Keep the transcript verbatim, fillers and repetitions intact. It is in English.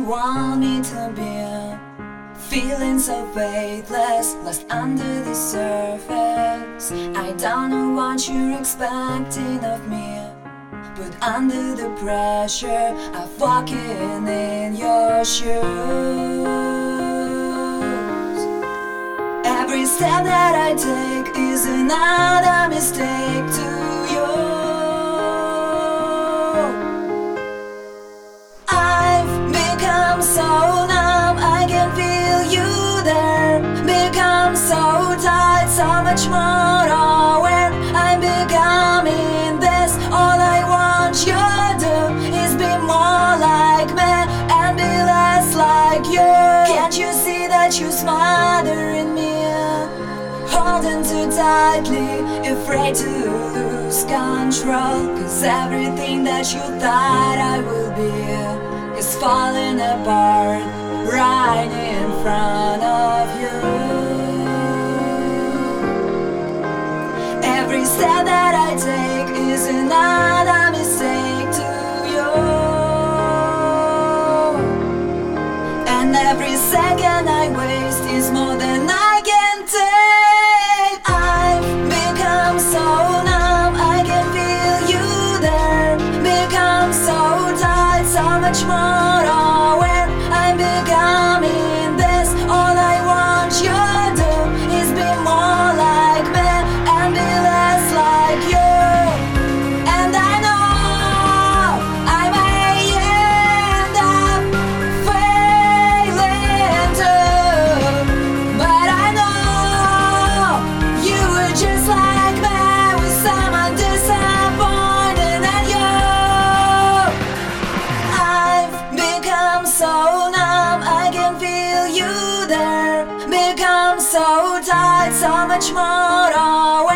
want me to be. Feeling so weightless, lost under the surface. I don't know what you're expecting of me, but under the pressure of walking in your shoes, every step that I take is another mistake to you. I've become so numb, I can feel you there. Become so tight, so much more aware. I'm becoming this. All I want you to do is be more like me and be less like you. Can't you see that you're smothering me, holding too tightly, afraid to lose control? Cause everything that you thought I would be is falling apart right in front of you. Every step that I take is another mistake to you, and every second I waste is more than I can take. I've become so numb, I can feel you there. Become so tight, so much more aware. I'm becoming this. All I want you to do is be more like me and be less like you. And I know I may end up failing too, but I know you were just like me, with someone disappointed at you. I've become so numb, I can feel you there. Become so tight, so much more aware.